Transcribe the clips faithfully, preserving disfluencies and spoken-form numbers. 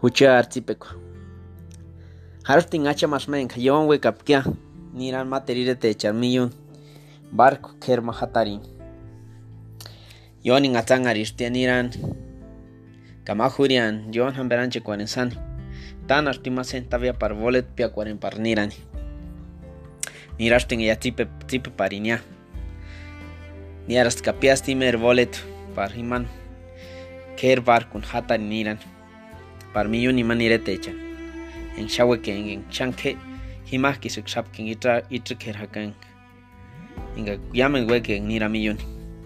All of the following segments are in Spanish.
Hucha artipeko. Harting hacha más men kayon we kapkia. Niran materire te charmillun. Barco kerma hatarin. Yonin atang aristia niran. Kamahurian yon hamberanche cuarensan. Tan artima centavia par volet pia cuaren par nirani. Nirasting ya tipe tipe parinia. Niarast kapias timer volet par himan. Ker barkun hatarin niran. Par millón y manire techa. En shaweke en chanke himas ki suk shapkin itra itra ker hakan. Inga yamen weke nira millón.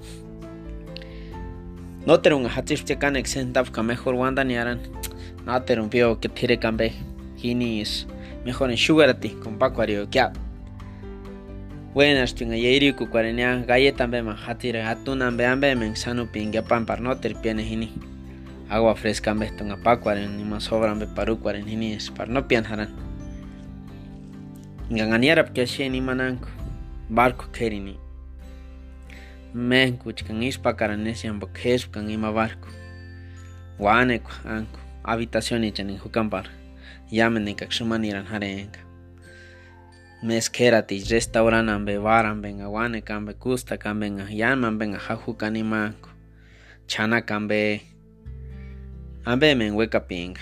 No terun hatif tekan exentaf ka mejor wanda niaran. No terun pio que tire kambe. Hini is mejor en sugarati con pacuario kya. Buenas tunga yeiri ku kwarenia gaye tambe ma hatire hatuna ambe ambe men sanu pinga pan par no ter piene hini. Agua fresca en besto en apacuaren ni más sobran be parucuaren ni es par no pianjaran. Ganganiara porque she ni mananco barco kerini. Men kuchkan ispa caranesian bokes kan ima barco. Guaneco anco habitación y en jucampar. Yamen en kaxumaniran jarenga. Meskerati restauran ambe varan ben aguane cambe custa camben a yaman ben a jajucan y manco. Chana cambe. Ambe men weka pinga.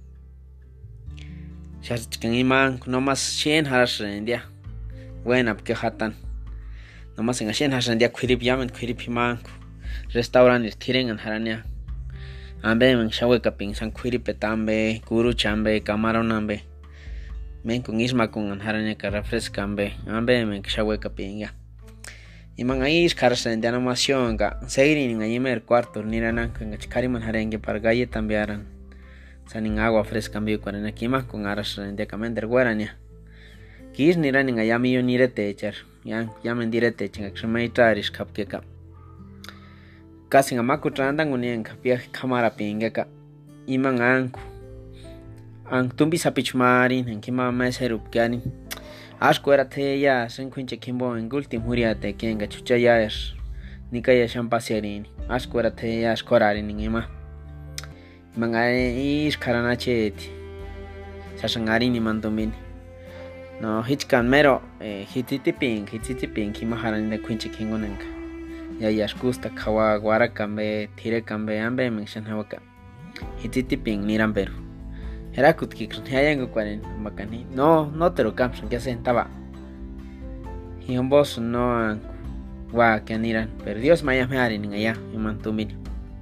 Shachkan iman no más shen haras rendia. Buena porque hatan. No más en shen haras rendia kwirip yamen kwirip imanku. Restauran ir tiren an harania. Ambe men shaweka ping san kwirip tambe, guru chambe, camaron ambe. Men con isma con an harania ka refresca ambe. Ambe men shaweka pinga. Iman ahí caras en animación ga seguir en el primer cuarto niranan con chikariman harengue para galle tambiaran sanin agua fresca ambio cuarenta kima con aras en de comender guarania kis niran en ayami yo nirete echar ya yamen direte chinga xmeitarish kapkeka casi ngamaku trandan unien kapia cámara pingeka iman anku an tumbi sapichmarin en kima meserup gani Ashko era te ya sen kunche kimbo en ultim huriate kenga chucha ya es nikaya shampasierini Ashko era te ya skorari ningima manga is karanacheti sashangari ni mandomini no hichkan mero eh, hititiping hititiping kimaharan de kunche kingonenka ya ya skusta kawa guara kambe tire kambe ambe mengshan hawaka hititiping niramberu Herakut ki hayango cuaren makani no no te lo camsan que sentaba y un boss no wa que aniran pero Dios maya me harin allá y mantumir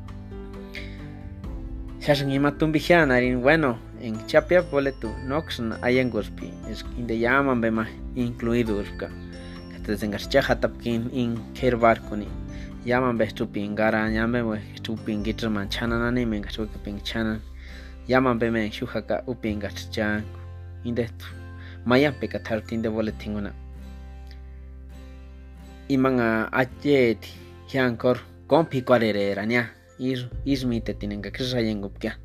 Shashan y matumbijan harin bueno en chapia boletu noxn ayangospi es inde llaman bema incluido urka que te tengas chaja tapkin in kerbar koni llaman bestupin gara llame we stupin gitr manchana nani me gasu que pinchana Yaman beme shujaka upinga chang indetu maya peka tartin de boletin una imanga achet hiankor kompi kwarere rania ir ismite tienen que krayengupka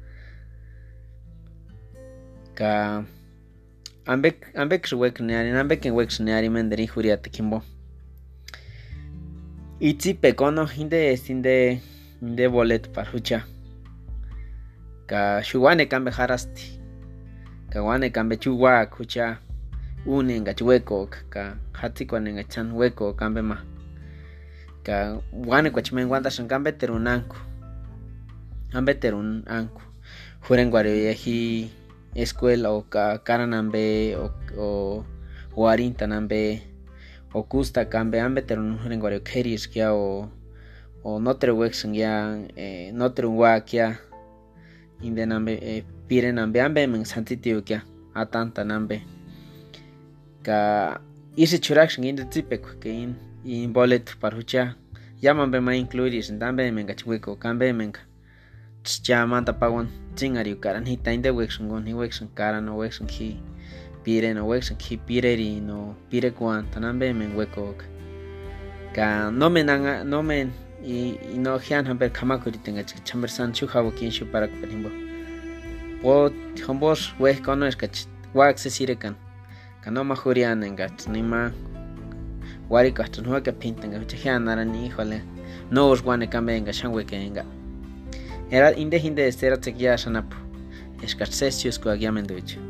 ka ambek ambek wek neari ambek wek neari menderi huriate kimbo itzi pekono inde sinde inde bolet parhucha ka shuwane kambe harasti ka wane kambe chuwa kucha une nga chuweko ka hati kwa nga chan weko kambe ma ka wane kwa chimen wanda shan kambe terunanku ambe terun anku huren gware yahi escuela o ka karanambe o o warinta nambe o kusta kambe ambe terun huren gware keris kya o o notre wexen ya eh, notre wa kya inde nambe eh, pire nambe ambe men santitio kya atanta nambe ka ise churaction inde tipeko ke in in bolet parhucha yamambe ma incluiris ndambe men gachweko kambe men chamanta pagon chingari karan hita inde wexon gon hi wexon karan no wexon ki pire no wexon ki pireri no pire kwan tanambe men weko ka no men no men y, y no hian hamber kamakuri tenga chambersan chuhawo kinshu para penimbo o hombos we kono es kach wa accesire kan kano majurian engat nima wari kastan ho ka pintenga hian narani hole no os wane kambe enga shangwe kenga era inde hinde estera tekia sanapu escarcesios coagiamente bicho